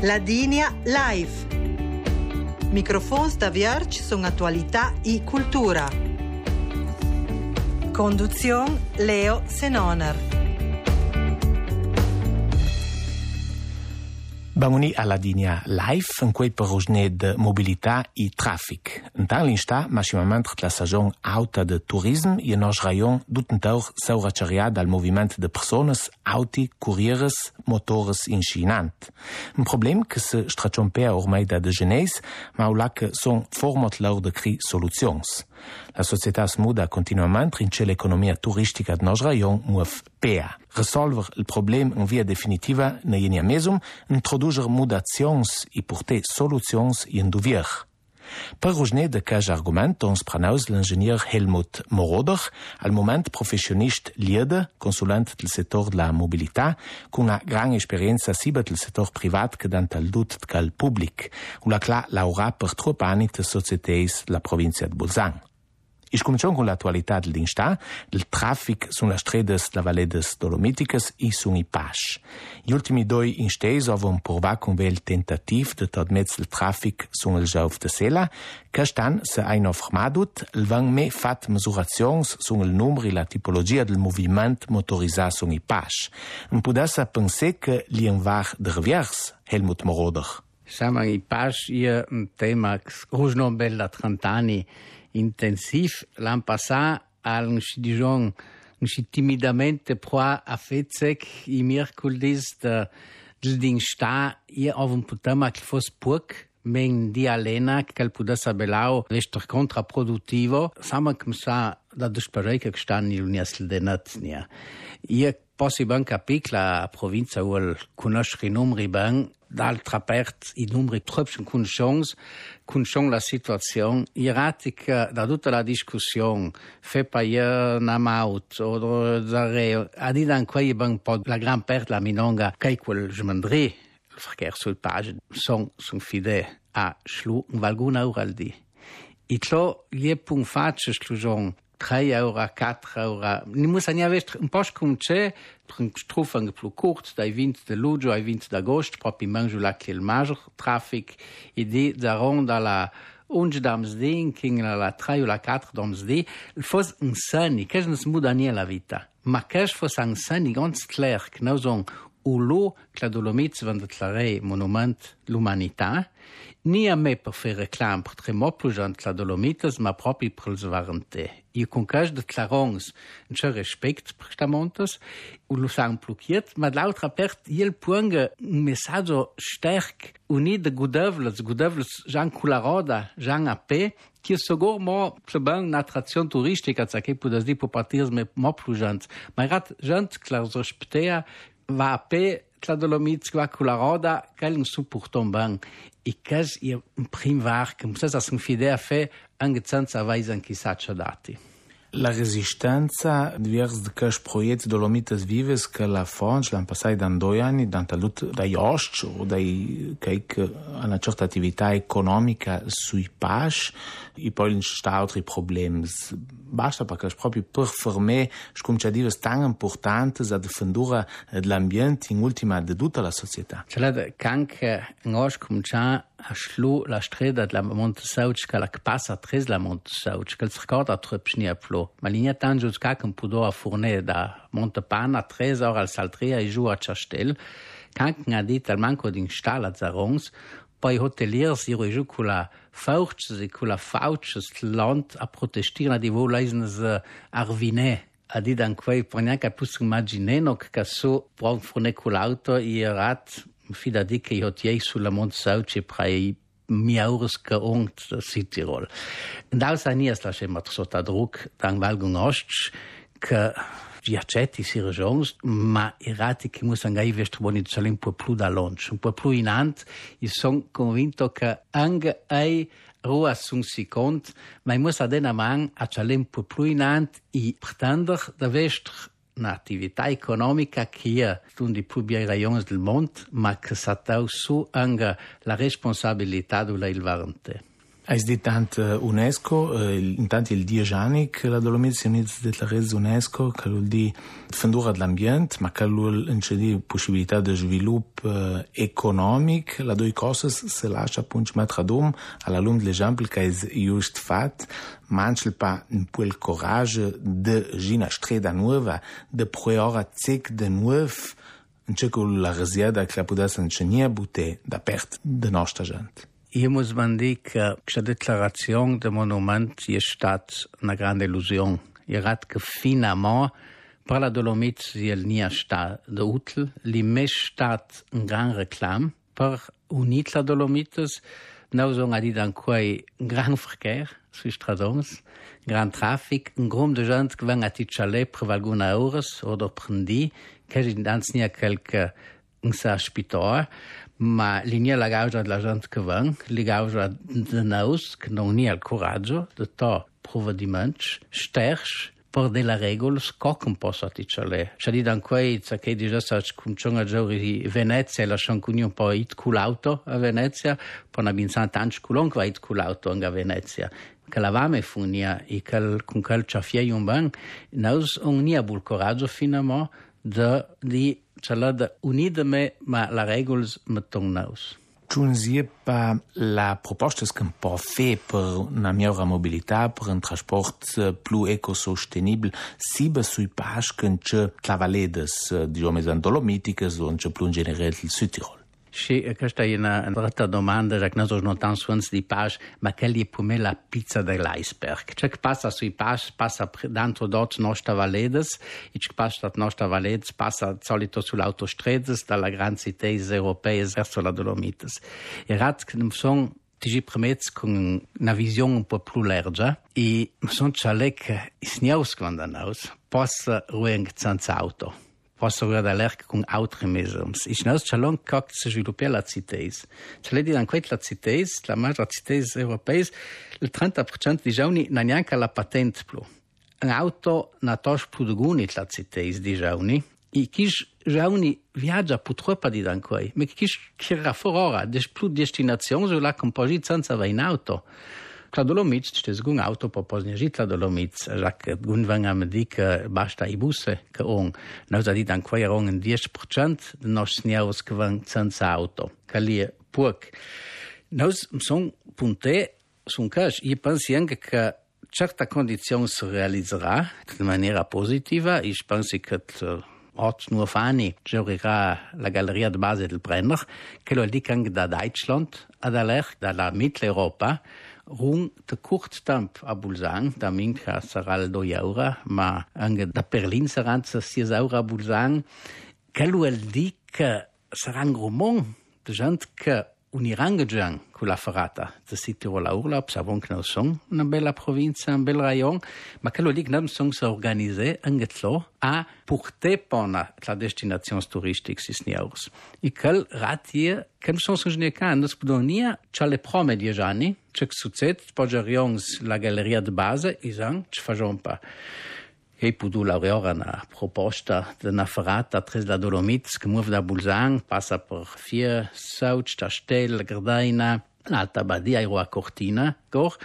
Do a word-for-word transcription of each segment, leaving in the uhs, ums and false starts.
Ladinia Live. Microfons da Vierge sono attualità e cultura. Conduzione Leo Senoner. Bamuni alla Ladinia Live, in cui parosne de mobilità e traffic. In tal l'insta, maximament la saison auta de turisme e nos rayon dutenteur sauraceria dal moviment de persones, auti, courieres, motores incinant. Un problem che se strachompea ormai da degeneis, ma ula che son formot lor de cri soluzions. La società smuda continuament rince l'economia turistica de nos rayon muov pea. Resolver il problem in via definitiva ne ienia mesum, introducer mudazions e porter soluzions in duvier. Per rosne de caj argument ons pranaus l'ingenier Helmut Moroder, al moment professionist liede, consulent del sector de la mobilità, con una gran esperienza sia del sector privat che dant al dut cal public, ula cla laura per trop anni de societés la provincia de Bolzan. Ich cominciamo con l'attualità dell'insta, del traffic sulla stredes la Valle des Dolomiticas e sun i Pasch. Gli ultimi due instesi avevano provato con il tentativo di tradmezz il traffic sul Giauf de Sela, che stan se hanno fermato, il van me fat misurazioni sul numero e la tipologia del movimento motorizzato sun i Pasch. Non potesse pensare che li var de revers, Helmut Moroder. Siamo i Pasch è un tema che oggi bella trenta anni intensiv. L'anno passato, al dijon, timidamente pro a fetzek i mercoledis de del sta io av un tema che fosse poc men di alena che potesse belau rester contraproduttivo. Sama che sa da disparare che sta in l'università de Naznia. Io posso ben capire la provincia vuol conoscere i numeri ben. D'altra parte, i numeri troppo conosciamo, conosciamo la situazione. Iratica da tutta la discussione, fa paia una maut, o da a dire anche un po' la gran parte la minonga, che quel gemandri, il verkehr sul page, sono son fide a schlu, un valguna euro al di. E ciò gli è pun faccio schlugion, tre euro, quattro euro. Non muss ania vest un po' come c'è, un strufang più corto, dai venti di luglio ai venti d'agosto, proprio in mangiù là che il maggior traffic, e di da ronda la unge damsdì, che la tre o la quattro damsdì, il fosse un sani, che non si muda nie la vita, ma che fosse un sani ganz klar, che noi sono ulo che la Dolomites van declarare monument l'umanità, ni a me per fare reclam per tre mo più gente la Dolomites, ma proprio per il svarente. Io con cas declarons un certo rispetto per sta montes, u lo sang blocchiert, ma d'altra parte il punge un messaggio sterk uni de gudevles, gudevles Jean Cularoda, Jean A P, che sogar mo plebang un'attrazione turistica, che può dire può partire me mo più gente, ma rat gente che la rispettea va a pe la Dolomites va con la roda che non supportam ben e che è un prim var che se sa fide a fe anche senza vaisen chi sa dati. La resistenza divers de cash proiect Dolomites Vives che la Fonge l'hanno passato da due anni da lut dai ost o dai che una certa attività economica sui Pasch e poi non sta altri problemi. Basta perché proprio per fermare come divers tan importante a difendere l'ambiente in ultima di tutta la società. C'è la canche in os comincia a schlu la strada della Montesauc che la passa tres la Montesauc che il ricorda troppo a plo. Ma linea tanto che un po' a fornire da Montepana tre ore al Saltria e giù a Ciastel, canche ha detto al manco di installa a Zarons, poi hoteliers iro giù con la fauces e con la fauces land a protestare di voleisne arvine. A dire anche per neanche più immaginare che so può fornire con l'auto e rat fida di che io ti sulla Montesauc e prei mi aures che ongt Südtirol. Und aus anias la schema sotto druck dann valgung ost che vi accetti si regions ma irati che muss angai vest boni c'è un po' più da launch un po' più in ant io sono convinto che anche ai rua sun si cont ma muss adena man a c'è un po' più in ant e pretender da vest un'attività economica che è uno dei più bei rayons del mondo, ma che sa su anche la responsabilità della il varante. Hai detto tanto UNESCO, eh, intanto il dieci anni che la Dolomiti si unisce della rete UNESCO, che vuol dire difendere dell'ambiente, ma che vuol dire possibilità di sviluppo eh, economico. Le due cose si lascia appunto mettere ad um, alla lume dell'esempio che è giusto fatto, manca pa un po' il coraggio di gina strada nuova, di provare zic di nuovo, in ciò che la resieda che la potesse insegnare butte da parte della nostra gente. Io muss man dire che questa declarazione del monumento è stata una grande illusione. Il rat che finalmente per la Dolomite è non stato utile, è stato un gran reclame per unire la Dolomite. Noi sono dit ancora un gran verkehr sui stradoni, un gran traffico, un gruppo di gente che viene a Ticcialè per alcune ore o per un giorno, che è non qualche un ospitore, ma linea la causa della gente che viene, la causa di noi che non ha il coraggio di to provvedimenti sterci per delle regole che non possono ticciare. C'è di ancora che dice che cominciano a giocare a Venezia e lasciano un po' it con l'auto a Venezia, poi abbiamo tanti culon che va it con l'auto a Venezia. Che la vame funia e che con quel ciaffie un ban, noi non abbiamo il coraggio finalmente di Cioè, unideme, ma la regola mettono noi. Non si pa la proposta che può fare per una migliore mobilità, per un trasporto più ecosostenibile, sia sui passi che c'è la Valle, diciamo, in Dolomitiche, o c'è più in generale il Südtirol. Sì, questa è una altra domanda, che noi non tanto suoni di pace, ma che è per me la pizza dell'iceberg. Ciò che passa sui passi passa dentro dort nostra Valedes, e ciò che passa da nostra Valedes passa solito sull'autostrada dalla grande città europea verso la Dolomites. E rat che non sono ti permette con una visione un po' più larga e sono ciò che i sniaus quando noi possa ruang senza auto. Posso guardare con altri mezzi. E noi abbiamo che si sviluppa la città. C'è di anche la città, la maggiore città europea, il trenta per cento di giovani non ha neanche la patente più. Un'auto non ha più di guida la città di giovani. E chi giovani viaggia purtroppo di ancora. Ma chi gira fuori ora, c'è più destinazioni sulla composita senza avere un'auto. La Dolomite, c'è un'auto per posare la Dolomite, già che non vengono a dire che basta i bus che hanno. Noi abbiamo detto ancora un dieci per cento dei nostri signori che vanno senza auto. Che lì è poco. Noi siamo punti su un caso. Io penso anche che certe condizioni si realizzerà in maniera positiva. Io penso che otto nuove anni giocherà la galleria di base del Brenner, che lo dice anche da Deutschland, ad aller dalla Mitteleuropa, rung de kort temp a Bulzang, da minca sarà il due euro, ma anche da Berlin saranno sei euro a Bulzang, che vuol dire che sarà un grumon di gente che uniranno con la ferrata di Südtirol a Urlaub, sappiamo che noi siamo una bella provincia, un bel rayon, ma che vuol dire che noi siamo organizzati anche a portare la destinazione turistica sisniaus. E che ratie, che non sono giocati, non si può dire, c'è le prime dieci anni, c'è che succede, poggiamo la galleria di base e diciamo, ci facciamo pas. E può laureare una proposta di una ferrata tra la Dolomite che muove da Bulzang, passa per Fier, Sauc, Castel, Gardena, l'Alta Badia e a Cortina,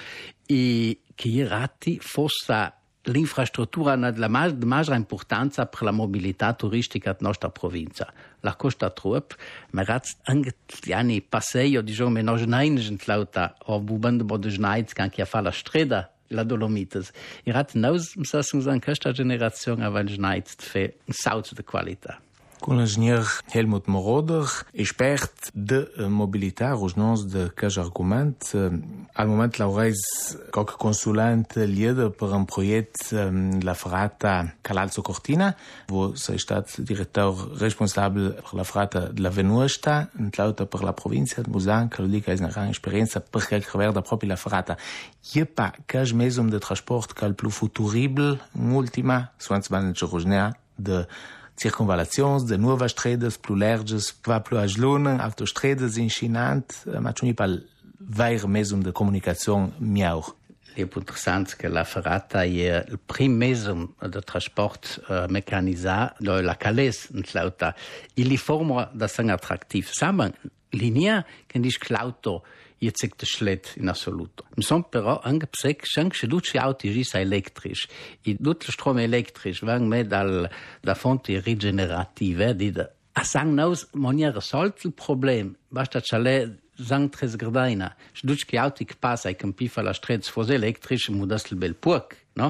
e che i rati fosse l'infrastruttura della maggiore importanza per la mobilità turistica della nostra provincia. La costa troppo, ma anche gli anni passati, diciamo, noi non siamo lauta, o bubando di snaiz, che anche a fare la strada, la Dolomites. E rat nous, sagen, in questa generazione aveva snaiz di un salto di qualità. Con l'ingegner Helmut Moroder, expert de mobilità, rosnons de quel argument. Al moment laureis qualche consulente liede per un proiect la ferrata Calalzo Cortina, wo sei stat direttor responsabile per la ferrata de la Venusta, l'auto per la provincia de Busan, che lo dica è una gran esperienza per quel che riguarda proprio la ferrata. Je pa quel mesum de transport che è il più futuribile, un'ultima, suanz ban il de circunvalazioni, de nuove strade più larghe, va più agilone, autostrade incinante, ma c'è pas il vero mezzo di comunicazione migliore. È interessante che la ferrata è il primo mezzo di trasporto uh, meccanizzato della Calais in l'auto. E li forma da essere attrattivo. Samen, linea che dice che l'auto je cek de schlet in assoluto. Mi son però anche psec, anche se tutti auti gisa elettrici, e tutto il strom elettrici vengono me dal, da fonti rigenerative, di da, a sang naus monia risolto il problema, basta c'è sang tres gardaina, se tutti auti che passa e campi fa la strada fosse elettrici, mudas il bel puc, no?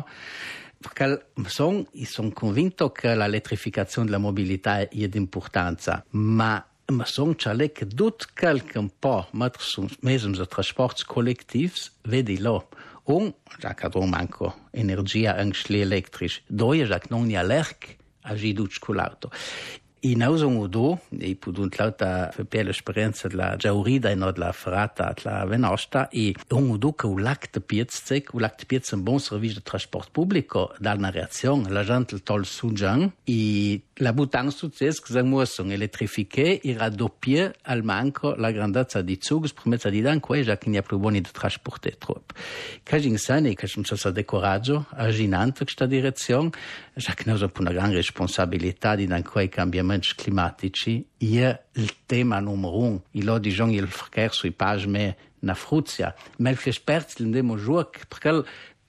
Perché son, sono convinto che l'elettrificazione della mobilità è di importanza, ma ma sono c'è che tutto qualche un po' mettere su mezzi di trasporti collettivi, vedi lo. Un, già che non manco energia anche elettrici, due, già che non è allergico a giudice con l'auto. E noi siamo due, e potuto l'auto per l'esperienza della Giaurida e non della Ferrata, della Venosta, e siamo due che un lac di piazza, un lac di piazza è un buon servizio di trasporto pubblico, dà una reazione, la gente il tol su già, e la buttano successo che siamo elettrificati e raddoppiare al manco la grandezza di zugs, permessa di dan quei già che non è più buono di trasportare troppo. Che in sani, che ci sono decoraggio, aginante questa direzione, già che noi abbiamo una grande responsabilità di dan quei cambiamenti climatici, è il tema numero uno. E lo diciamo il verkehr sui pagine na Fruzia. Ma gli esperti non devono giocare perché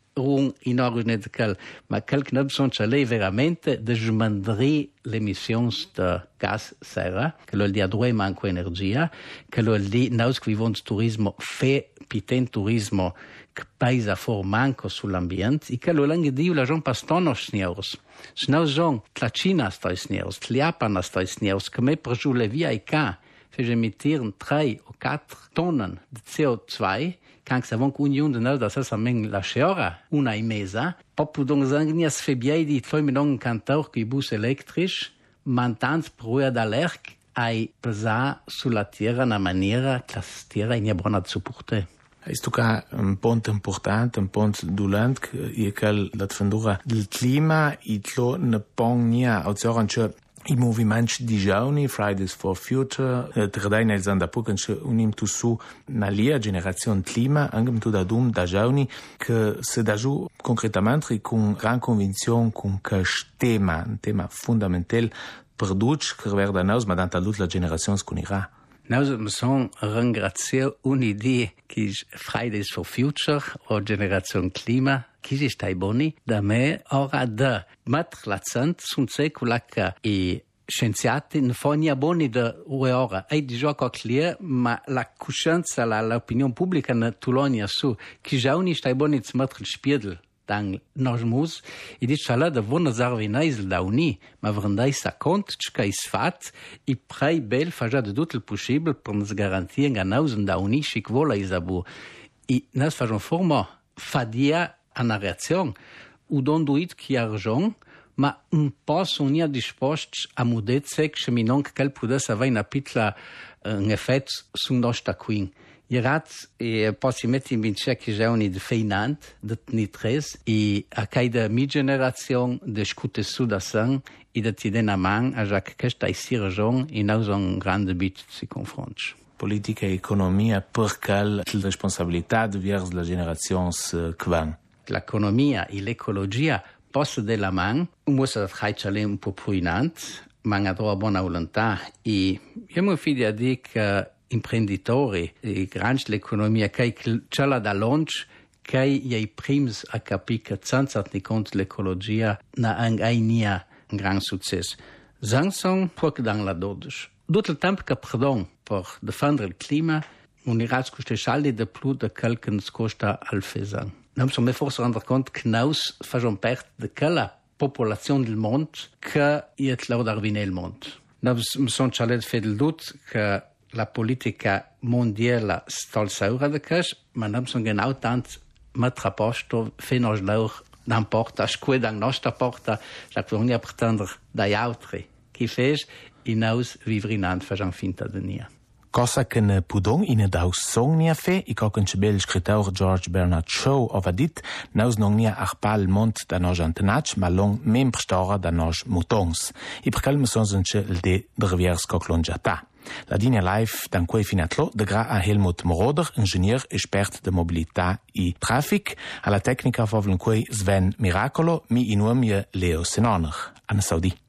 un in origine di quel, ma quel che noi sono lei veramente di smandare le emissioni di gas serra, che lo di a due manco energia, che lo di noi che vivono di turismo, fe piten turismo che paesa for manco sull'ambiente, e che lo lange di la gente pastono sneros. Se noi sono la Cina sta sneros, la Japan sta sneros, che me per giù le via e ca, fece emittire tre o quattro tonnen di C O due, quand ça va qu'union de nord, ça ça mène la cheora, una e mesa, popo donc zangnias febiai di foi me non cantor qui bus electrisch, mantans proa d'alerc ai pesa sulla terra na maniera che la terra in buona supporte. Ist ca un punto importante, un punto dolent che è che la fendura del clima e lo ne pognia a zoranche i movimenti di giovani, Fridays for Future, tredai nel Zandapuc, unim tu su na lia generazione clima, anche tu da dum da giovani, che se da giù concretamente con gran convinzione con questo tema, un tema fondamentale, produce che verda nos, ma danta tutta la generazione sconirà. Noi siamo ringraziati un'idea che è Fridays for Future o Generazione Clima, che è stai buoni, da me ora da mettere l'accento su quella che i scienziati non fanno buoni da ora. E di gioco a clear, ma la coscienza, l'opinione pubblica non tulonia su, che già non stai buoni di mettere il spiedel. Dan nós mus e diz fala da vona zarvinais da uni, ma vrandai sa cont que is fat e prei bel faja de tot el possible per nos garantir nga nausen da uni chic vola isabu. E nas fajon forma fadia ana reazione u don duit ki argent, ma un pas on ia disposts a mudezec che mi non quel pudes avai na pitla un effet su nostra queen. Irat e posso mettere in vincere che c'è un feinant de nitres e a cada mi generazione de scute su da sang e de ti den a man a già che questa è si ragione e noi un grande bit si confronta. Politica e economia perché la responsabilità verso la generazione che L'economia e l'ecologia possono della man, un muso fare un po' puinante, ma ha una buona volontà e io mi fido a dire che imprenditori e grandi l'economia che c'è la da launch che i primi a capire che senza tenere conto l'ecologia non ha un gran successo. Samsung può che dan la dodici. Tutto il tempo che perdon per difendere il clima, un irazzo costa saldi di più di quel che ci costa al fesan. Non siamo forse rendre conto che noi facciamo parte di quella popolazione del mondo che è l'ordine del mondo. Noi siamo cialè fedel dut che la politica mondiale sta al saura de cash, ma non sono genau tant mettere a posto fino a loro non porta, a scuola da nostra porta, la che non pretendere dagli altri. Chi fece, e noi vivrinant facciamo finta di niente. Cosa che ne pudong in daus song nia fe, i coc un bel scrittore George Bernard Shaw ova dit, naus non nia arpal mont da nos antenach, ma long membr stora da nos mutons. I percal me son zence il de dreviers coclongiata. La linea live dan quei finatlo de gra a Helmut Moroder, ingenier espert de mobilità e traffic, alla tecnica favlen quei Sven Miracolo, mi inuam je Leo Senoner. Anna Saudi.